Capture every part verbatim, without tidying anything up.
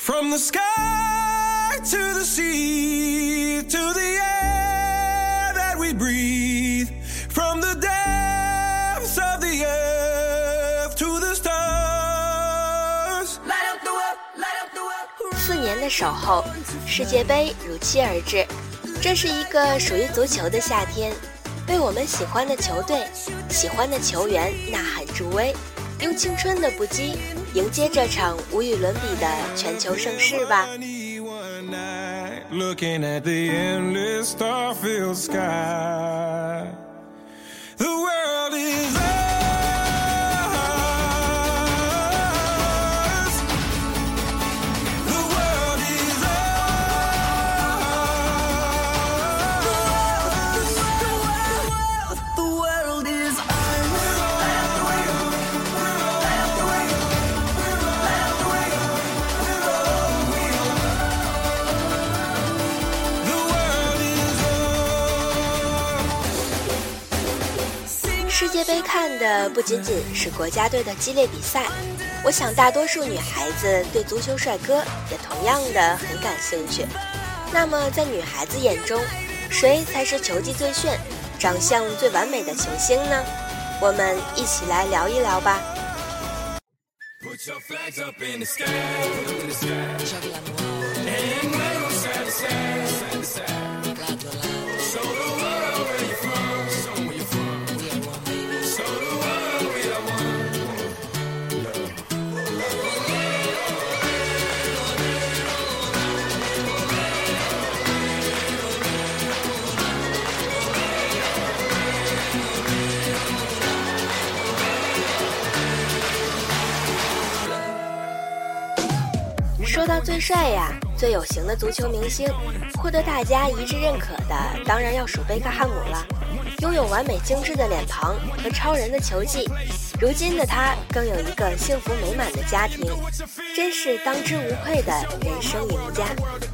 From the sky to the sea to the air that we breathe, from the depths of the earth to the stars. Light up the world, light up the world. 四年的守候，世界杯如期而至，这是一个属于足球的夏天，为我们喜欢的球队、喜欢的球员呐喊助威，用青春的不羁迎接这场无与伦比的全球盛世吧。 Looking at the endless star-filled sky, the world is ours. The world is ours. The world is ours. Light up the way, light up the way, light up the way. The world is ours. 世界杯看的不仅仅是国家队的激烈比赛，我想大多数女孩子对足球帅哥也同样的很感兴趣。那么在女孩子眼中，谁才是球技最炫、长相最完美的球星呢？我们一起来聊一聊吧。 Put your flags up in the sky, in the sky. And wave them side to side, side to side. Show the world where you're from, show 'em where you're from. Show the world we are one. 说到最帅呀，最有型的足球明星，获得大家一致认可的当然要数贝克汉姆了。拥有完美精致的脸庞和超人的球技，如今的他更有一个幸福美满的家庭，真是当之无愧的人生赢家。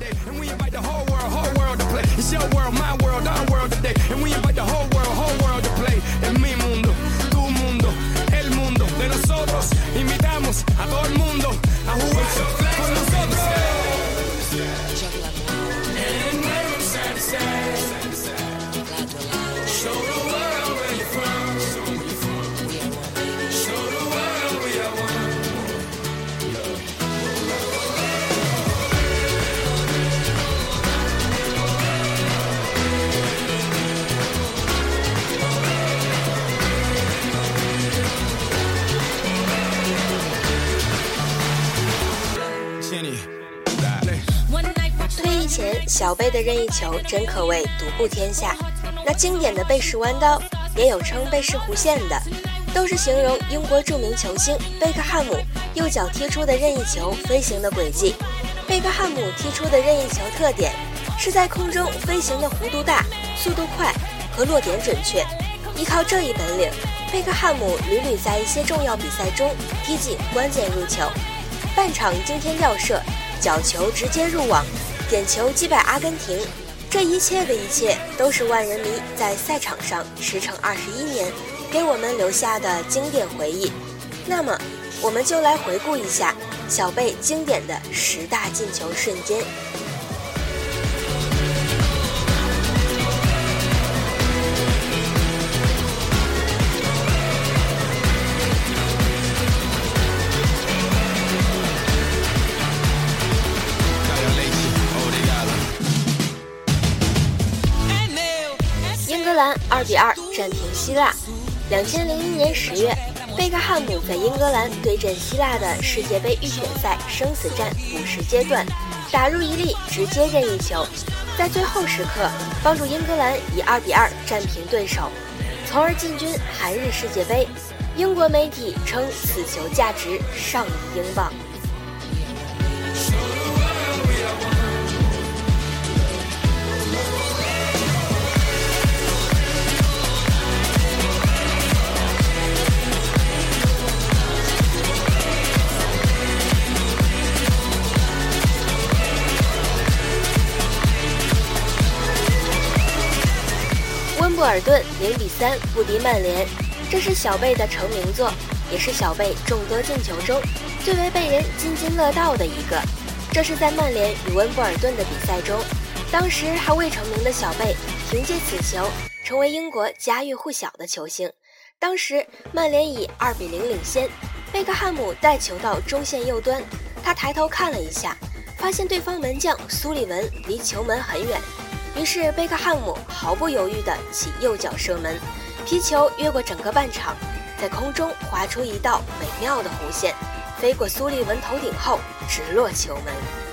退役前，小贝的任意球真可谓独步天下。那经典的贝氏弯刀，也有称贝氏弧线的，都是形容英国著名球星贝克汉姆右脚踢出的任意球飞行的轨迹。贝克汉姆踢出的任意球特点是在空中飞行的弧度大、速度快和落点准确。依靠这一本领，贝克汉姆屡屡在一些重要比赛中踢进关键入球，半场惊天吊射，角球直接入网，点球击败阿根廷。这一切的一切都是万人迷在赛场上驰骋二十一年给我们留下的经典回忆。那么我们就来回顾一下小贝经典的十大进球瞬间。二比二战平希腊。两千零一年十月，贝克汉姆在英格兰对阵希腊的世界杯预选赛生死战补时阶段，打入一粒直接任意球，在最后时刻帮助英格兰以二比二战平对手，从而进军韩日世界杯。英国媒体称此球价值上亿英镑。温布尔顿零比三不敌曼联，这是小贝的成名作，也是小贝众多进球中最为被人津津乐道的一个。 这是在曼联与温布尔顿的比赛中，当时还未成名的小贝凭借此球成为英国家喻户晓的球星。当时曼联以二比零领先，贝克汉姆带球到中线右端，他抬头看了一下，发现对方门将苏利文离球门很远，于是贝克汉姆毫不犹豫地起右脚射门，皮球越过整个半场，在空中划出一道美妙的弧线，飞过苏利文头顶后直落球门。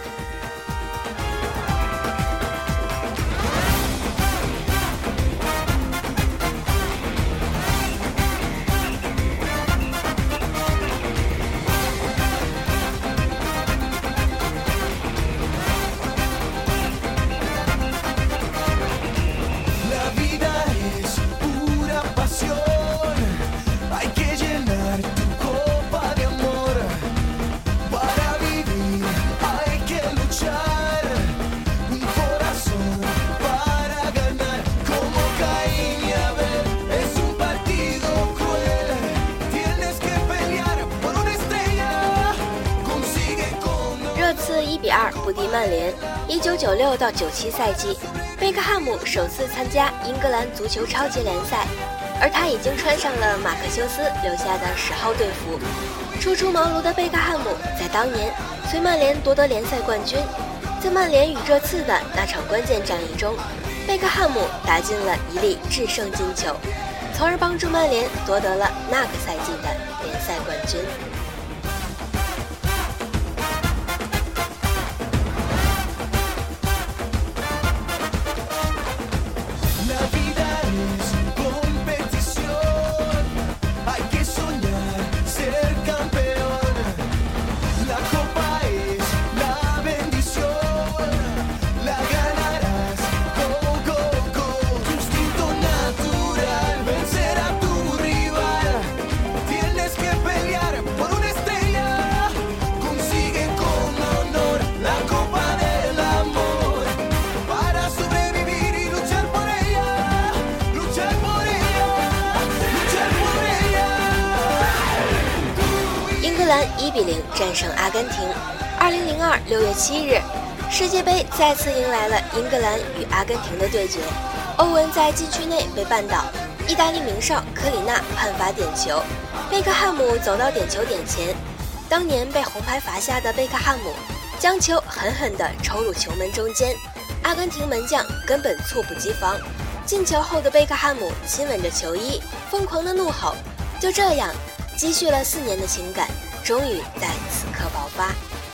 一比二不敌曼联。一九九六到九七赛季，贝克汉姆首次参加英格兰足球超级联赛，而他已经穿上了马克修斯留下的十号队服。初出茅庐的贝克汉姆在当年随曼联夺得联赛冠军。在曼联与热刺的那场关键战役中，贝克汉姆打进了一粒制胜进球，从而帮助曼联夺得了那个赛季的联赛冠军。一比零战胜阿根廷。二零零二六月七日，世界杯再次迎来了英格兰与阿根廷的对决。欧文在禁区内被绊倒，意大利名哨科里纳判罚点球，贝克汉姆走到点球点前，当年被红牌罚下的贝克汉姆将球狠狠地抽入球门中间，阿根廷门将根本猝不及防。进球后的贝克汉姆亲吻着球衣，疯狂地怒吼。就这样，积蓄了四年的情感终于在此刻爆发。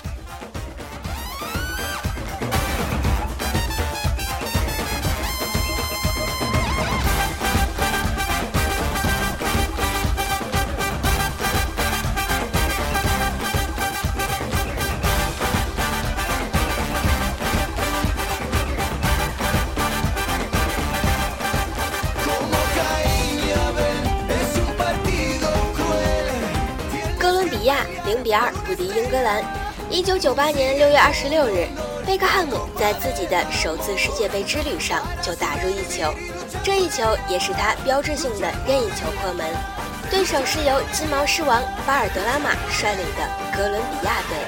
零比二不敌英格兰。一九九八年六月二十六日，贝克汉姆在自己的首次世界杯之旅上就打入一球，这一球也是他标志性的任意球破门。对手是由金毛狮王巴尔德拉马率领的哥伦比亚队。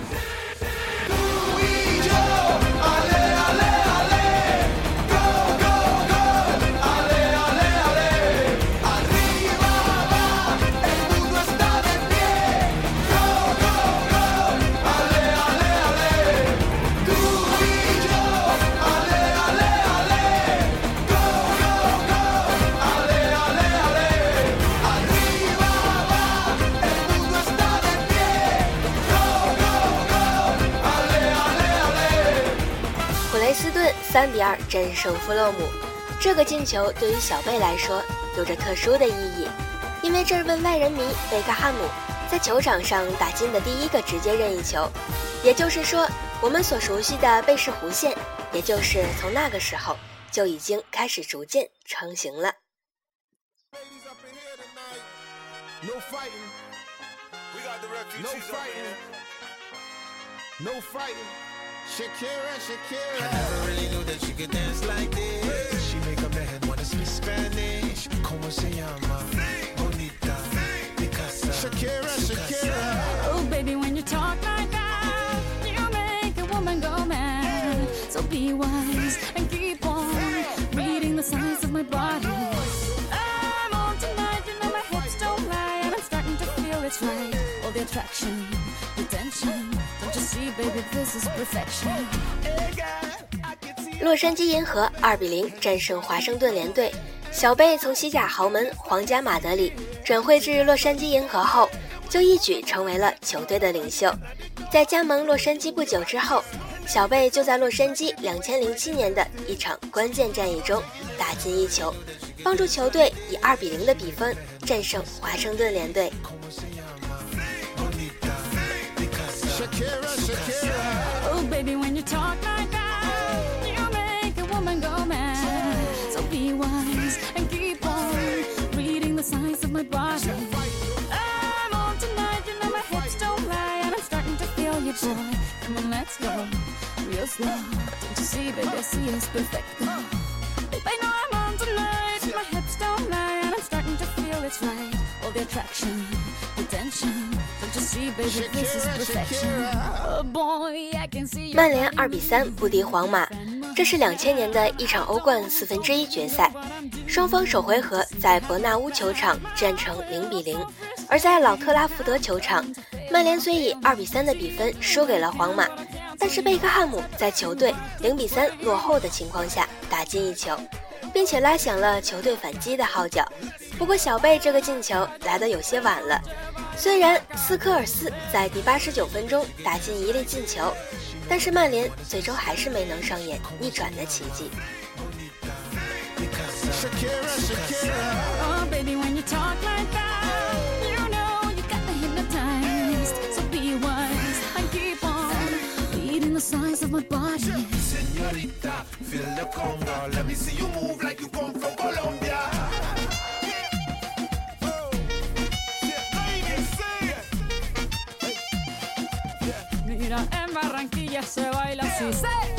三比二战胜富勒姆，这个进球对于小贝来说有着特殊的意义，因为这位外人迷贝克汉姆在球场上打进的第一个直接任意球，也就是说，我们所熟悉的贝氏弧线，也就是从那个时候就已经开始逐渐成型了。 No fighting. We got the refugees no fighting. No fighting. Shakira, Shakira. I never really knew that she could dance like this. She make a man wanna speak Spanish. Como se llama? Bonita. Picasa. Shakira, Shakira. Oh, baby, when you talk like that, you make be wise and keep on reading the signs of my body. I'm on tonight, you know my hips don't lie, and I'm starting to feel it's right. All the attraction, the tension, don't you see, baby, this is perfection. 洛杉矶银河二比零战胜华盛顿联队，小贝从西甲豪门皇家马德里转会至洛杉矶银河后，就一举成为了球队的领袖。在加盟洛杉矶不久之后，小贝就在洛杉矶两千零七年的一场关键战役中打进一球，帮助球队以二比零的比分战胜华盛顿联队。 Oh baby, when you talk like that, you make a woman go mad. So be wise and keep on reading the signs of my body. I'm on tonight, you know my hips don't lie, and I'm starting to feel you, boy. Come on, let's go real slow. Don't you see, baby, I see it's perfect. Babe, I know I'm on tonight, my hips don't lie, and I'm starting to feel it's right. All the attraction, the tension, don't you see, baby, this is perfection. Oh boy, I can see you. 曼联二比三不敌皇马，这是两千年的一场欧冠四分之一决赛，双方首回合在伯纳乌球场战成零比零，而在老特拉福德球场，曼联虽以二比三的比分输给了皇马，但是贝克汉姆在球队零比三落后的情况下打进一球，并且拉响了球队反击的号角。不过小贝这个进球来得有些晚了，虽然斯科尔斯在第八十九分钟打进一粒进球，但是曼联最终还是没能上演逆转的奇迹。 Oh baby, when you talk like that, you know you got me hypnotized. So be wise and keep on reading the signs of my body. Señorita, feel the conga. Let me see you move like you come from Colombia. Mira, en Barranquilla se baila así.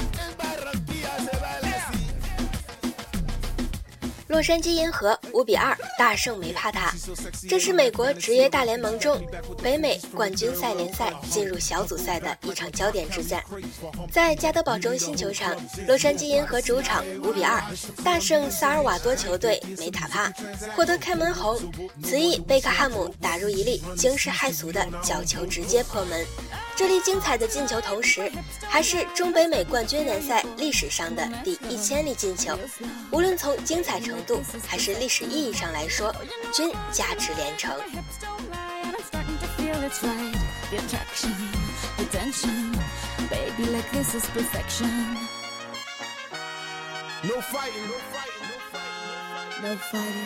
洛杉矶银河五比二大胜梅帕塔，这是美国职业大联盟中北美冠军赛联赛进入小组赛的一场焦点之战。在加德堡中心球场，洛杉矶银河主场五比二大胜萨尔瓦多球队梅塔帕，获得开门红。此役贝克汉姆打入一粒惊世骇俗的角球，直接破门。这粒精彩的进球同时还是中北美冠军联赛历史上的第一千粒进球，无论从精彩程度还是历史意义上来说，均价值连城。 No fighting, no fighting, no fighting, no fighting.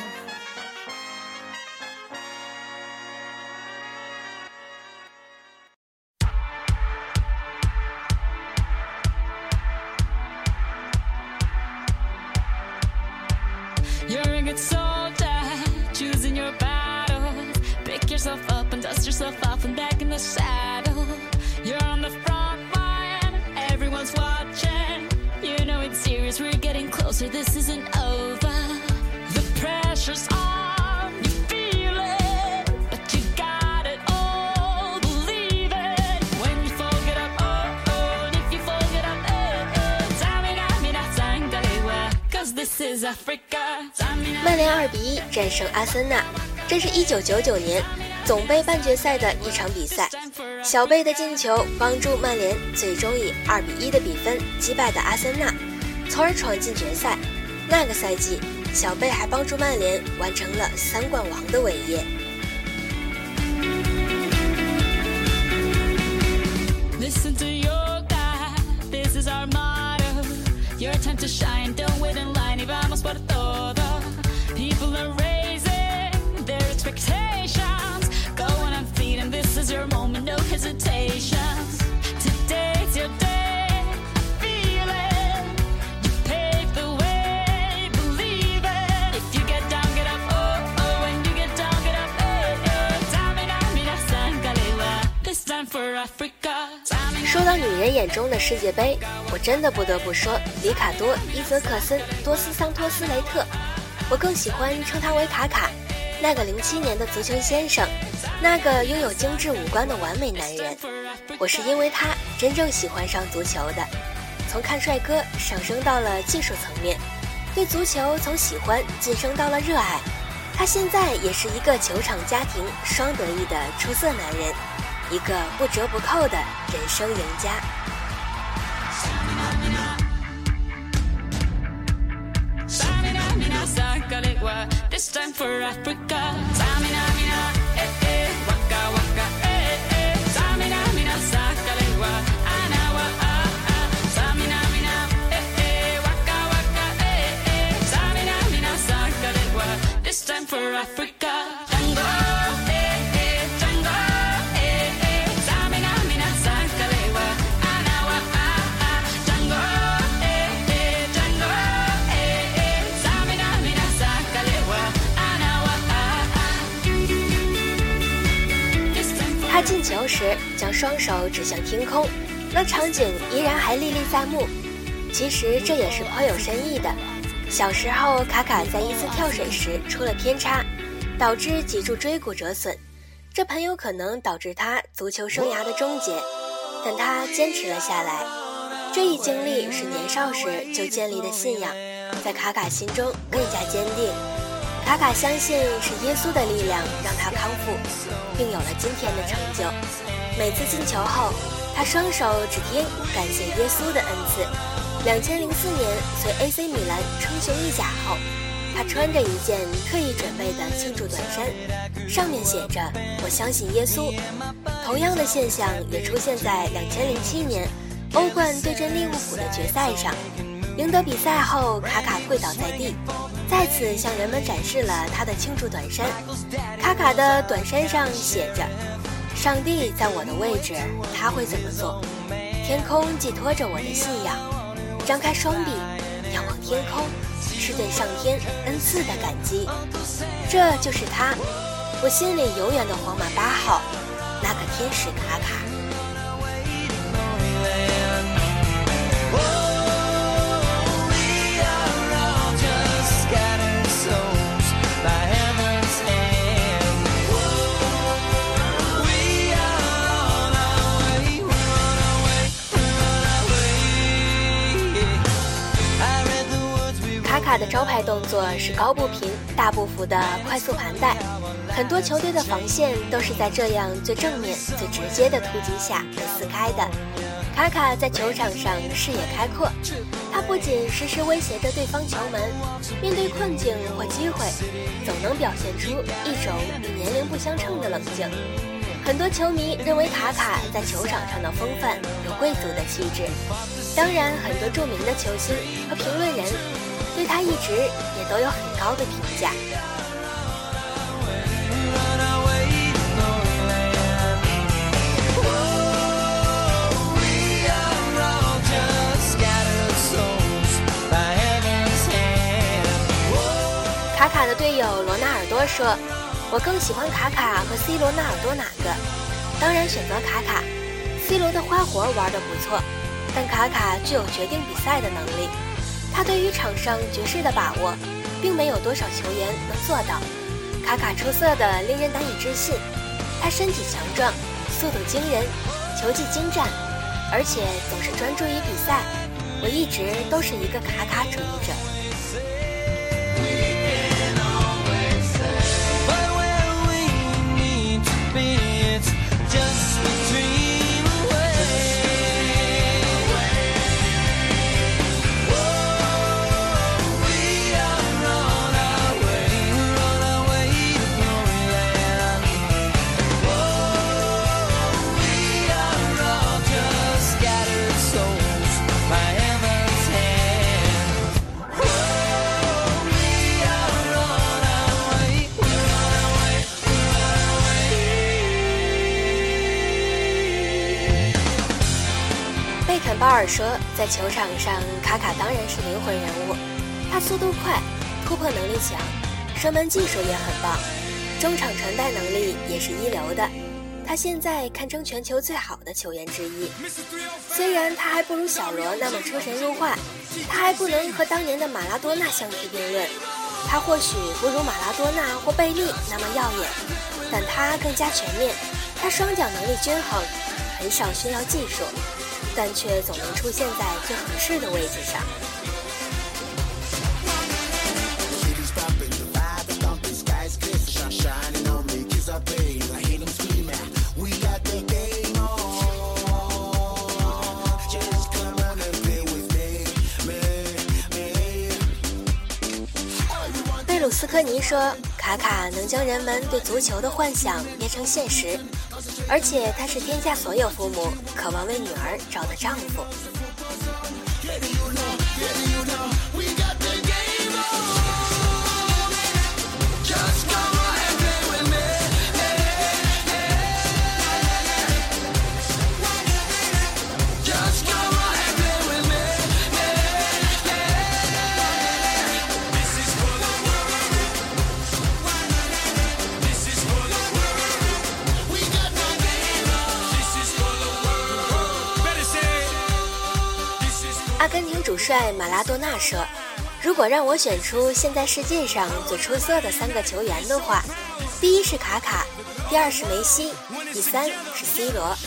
You're a good soldier, choosing your battle. Pick yourself up and dust yourself off and back in the saddle. You're on the front line, everyone's watching. You know it's serious, we're getting closer, this isn't over. The pressure's on, you feel it, but you got it all, believe it. When you fall, get up, oh, oh, and if you fall, get up, oh, oh. Tamina, mina, sangalewa, cause this is Africa. 曼联二比一战胜阿森纳，这是一九九九年总杯半决赛的一场比赛。小贝的进球帮助曼联最终以二比一的比分击败的阿森纳，从而闯进决赛。那个赛季，小贝还帮助曼联完成了三冠王的伟业。 Listen to your God, this is our motto. Your time to shine, don't wait in line, y vamos por todo. People are raising their expectations. Go on and feed them, this is your moment, no hesitations. Today's your day, feel it. You pave the way, believe it. If you get down, get up, oh, oh. When you get down, get up, eh, eh. Tamina, mina, sangalewa. This time for Africa. 说到女人眼中的世界杯，我真的不得不说里卡多、伊泽克森、多斯桑托斯雷特，我更喜欢称他为卡卡，那个零七年的足球先生，那个拥有精致五官的完美男人。我是因为他真正喜欢上足球的。 从看帅哥上升到了技术层面，对足球从喜欢晋升到了热爱。他现在也是一个球场家庭双得意的出色男人，一个不折不扣的人生赢家。 This time for Africa. Samina mina, eh eh, waka waka, eh eh. Samina mina, sakalewa, anawa ah ah. Samina mina, eh eh, waka waka, eh eh. Samina mina, sakalewa. This time for Africa. Tango, eh eh, tango, eh eh. Samina mina, sakalewa, anawa ah ah. Tango, eh eh, tango, eh eh. Samina mina, sakalewa. 他进球时将双手指向天空，那场景依然还历历在目。其实这也是颇有深意的。小时候卡卡在一次跳水时出了偏差，导致脊柱椎骨折损，这很有可能导致他足球生涯的终结，但他坚持了下来。这一经历是年少时就建立的信仰，在卡卡心中更加坚定。卡卡相信是耶稣的力量让他康复，并有了今天的成就。每次进球后，他双手指天感谢耶稣的恩赐。两千零四年随 A C 米兰称雄意甲后，他穿着一件特意准备的庆祝短衫，上面写着我相信耶稣。同样的现象也出现在两千零七年欧冠对阵利物浦的决赛上。赢得比赛后，卡卡跪倒在地，再次向人们展示了他的庆祝短衫。卡卡的短衫上写着上帝在我的位置，他会怎么做？天空寄托着我的信仰，张开双臂仰望天空，是对上天恩赐的感激。这就是他，我心里永远的皇马八号，那个天使卡卡。卡卡的招牌动作是高步频大步幅的快速盘带，很多球队的防线都是在这样最正面最直接的突击下被撕开的。卡卡在球场上视野开阔，他不仅时时威胁着对方球门，面对困境或机会总能表现出一种与年龄不相称的冷静。很多球迷认为卡卡在球场上的风范有贵族的气质，当然很多著名的球星和评论人对他一直也都有很高的评价。卡卡的队友罗纳尔多说，我更喜欢卡卡和 C 罗纳尔多哪个？当然选择卡卡。C 罗的花活玩得不错，但卡卡具有决定比赛的能力。他对于场上局势的把握，并没有多少球员能做到。卡卡出色的令人难以置信，他身体强壮，速度惊人，球技精湛，而且总是专注于比赛。我一直都是一个卡卡主义者。巴尔说，在球场上卡卡当然是灵魂人物，他速度快，突破能力强，射门技术也很棒，中场传带能力也是一流的。他现在堪称全球最好的球员之一。虽然他还不如小罗那么出神入化，他还不能和当年的马拉多纳相提并论，他或许不如马拉多纳或贝利那么耀眼，但他更加全面，他双脚能力均衡，很少需要技术。 但却总能出现在最合适的位置上。贝鲁斯科尼说，卡卡能将人们对足球的幻想变成现实，而且他是天下所有父母渴望为女儿找的丈夫。阿根廷主帅马拉多纳说，如果让我选出现在世界上最出色的三个球员的话，第一是卡卡，第二是梅西，第三是 C 罗。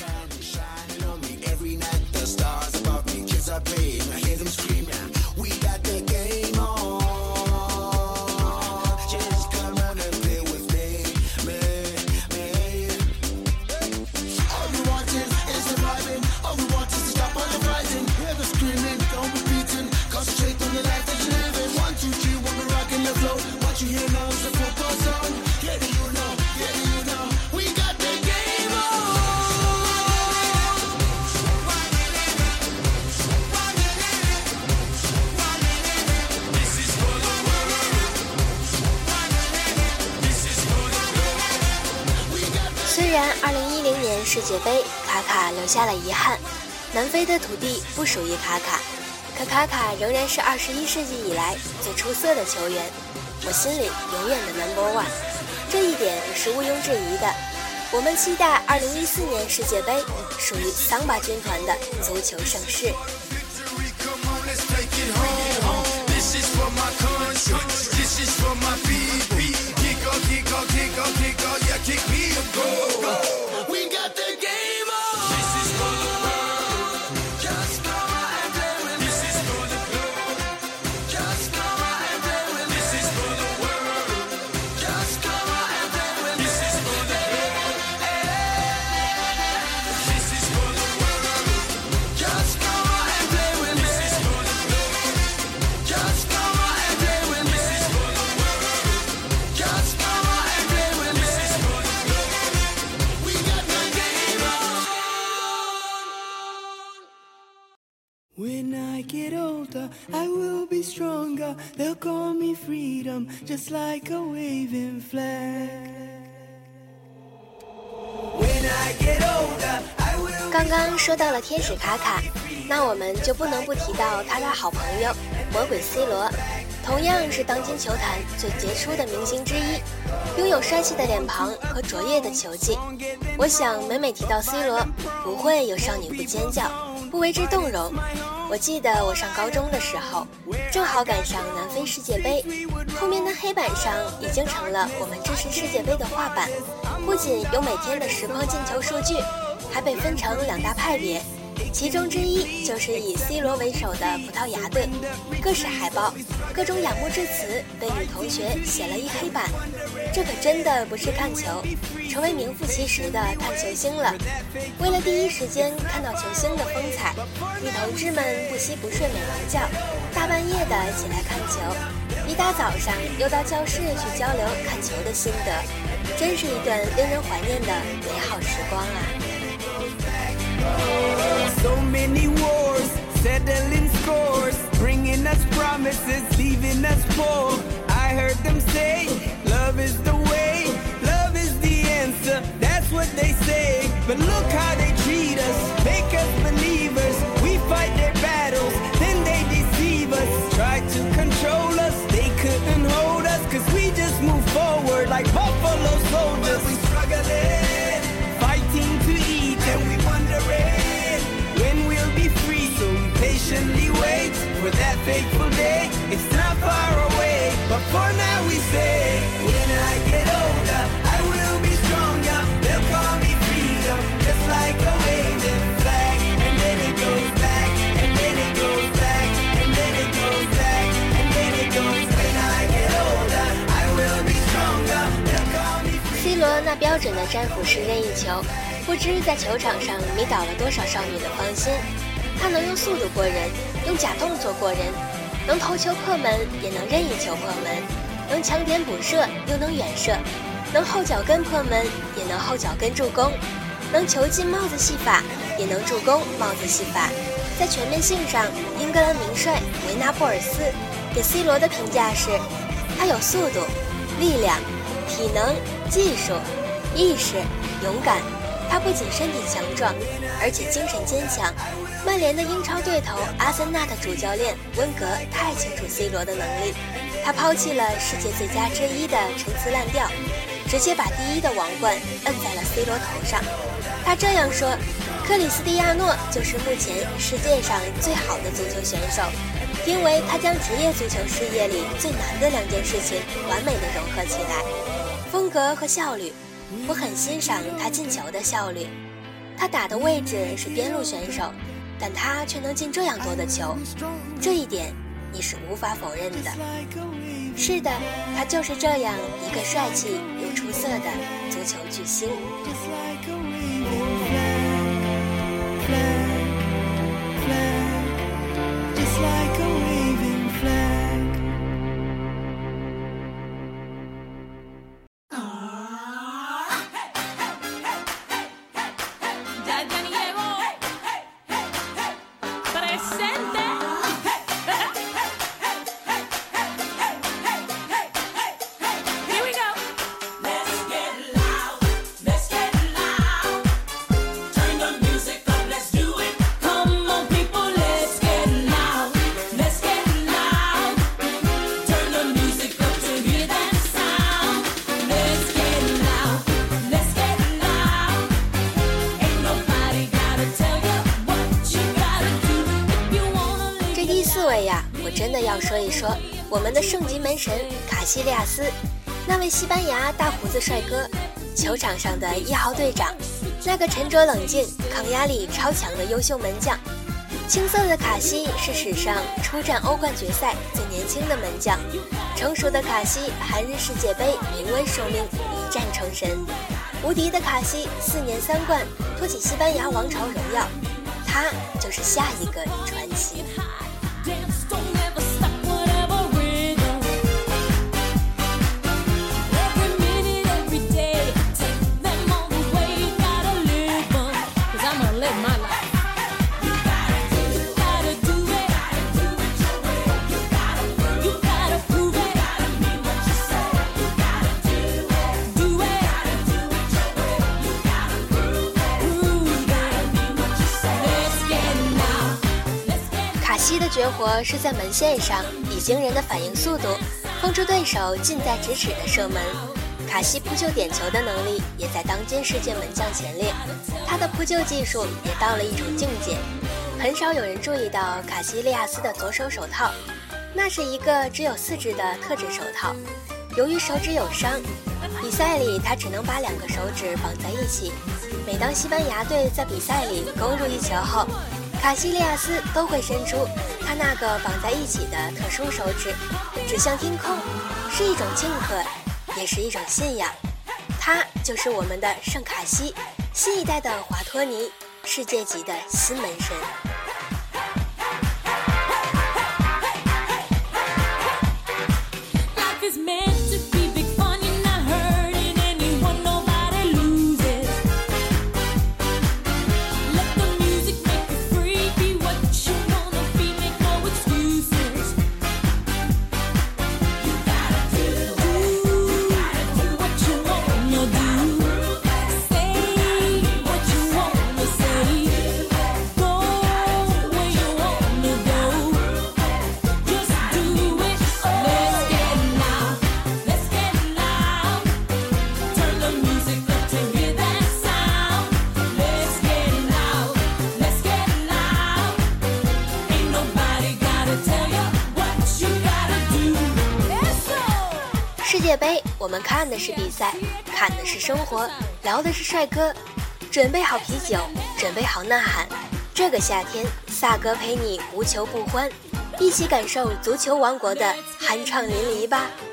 虽然二零一零年世界杯卡卡留下了遗憾，南非的土地不属于卡卡，可卡卡仍然是二十一世纪以来最出色的球员，我心里永远的 number one， 这一点是毋庸置疑的。我们期待二零一四年世界杯属于桑巴军团的足球盛世。 When I get older, I will be stronger. They'll call me freedom, just like a waving flag. When I get older, I will. 刚刚说到了天使卡卡，那我们就不能不提到他的好朋友魔鬼 C 罗，同样是当今球坛最杰出的明星之一，拥有帅气的脸庞和卓越的球技。我想每每提到 C 罗，不会有少女不尖叫，不为之动容。我记得我上高中的时候，正好赶上南非世界杯，后面的黑板上已经成了我们支持世界杯的画板，不仅有每天的实况进球数据，还被分成两大派别，其中之一就是以 C 罗为首的葡萄牙队，各式海报，各种仰慕之词被女同学写了一黑板。这可真的不是看球，成为名副其实的看球星了。为了第一时间看到球星的风采，女同志们不惜不睡美容觉，大半夜的起来看球，一大早上又到教室去交流看球的心得，真是一段令人怀念的美好时光啊。 So many wars, settling scores, bringing us promises, leaving us poor. I heard them say, love is the way, love is the answer, that's what they say. But look how they treat us, make us believers. We fight their battles, then they deceive us. Try to control us, they couldn't hold us, cause we just move forward like buffalo soldiers. We struggling, fighting to eat, and we wondering when we'll be free. So we patiently wait for that fateful day. It's not far away, but for now we say, when I get older, I will be stronger. They'll call me freedom, just like a waving flag. And then it goes 那标准的战斧式任意球，不知在球场上迷倒了多少少女的芳心。他能用速度过人，用假动作过人，能头球破门，也能任意球破门，能强点补射，又能远射，能后脚跟破门，也能后脚跟助攻，能球进帽子戏法，也能助攻帽子戏法。在全面性上，英格兰名帅维纳布尔斯给 C 罗的评价是：他有速度、力量、体能、技术、意识、勇敢。他不仅身体强壮，而且精神坚强。曼联的英超对头阿森纳的主教练温格太清楚 C 罗的能力，他抛弃了世界最佳之一的陈词滥调，直接把第一的王冠摁在了 C 罗头上。他这样说：克里斯蒂亚诺就是目前世界上最好的足球选手，因为他将职业足球事业里最难的两件事情完美地融合起来，风格和效率。我很欣赏他进球的效率，他打的位置是边路选手，但他却能进这样多的球，这一点你是无法否认的。是的，他就是这样一个帅气又出色的足球巨星。我真的要说一说我们的圣级门神卡西利亚斯，那位西班牙大胡子帅哥，球场上的一号队长，那个沉着冷静、抗压力超强的优秀门将。青涩的卡西是史上出战欧冠决赛最年轻的门将，成熟的卡西韩日世界杯临危受命，一战成神。无敌的卡西四年三冠，托起西班牙王朝荣耀，他就是下一个传奇。卡西的绝活是在门线上以惊人的反应速度封住对手近在咫尺的射门。卡西扑救点球的能力也在当今世界门将前列，他的扑救技术也到了一种境界。很少有人注意到卡西利亚斯的左手手套，那是一个只有四指的特制手套。由于手指有伤，比赛里他只能把两个手指绑在一起。每当西班牙队在比赛里攻入一球后，卡西利亚斯都会伸出他那个绑在一起的特殊手指，指向天空，是一种庆贺，也是一种信仰。他就是我们的圣卡西，新一代的华托尼，世界级的新门神。世界杯，我们看的是比赛，看的是生活，聊的是帅哥。准备好啤酒，准备好呐喊。这个夏天，萨哥陪你无球不欢，一起感受足球王国的酣畅淋漓吧。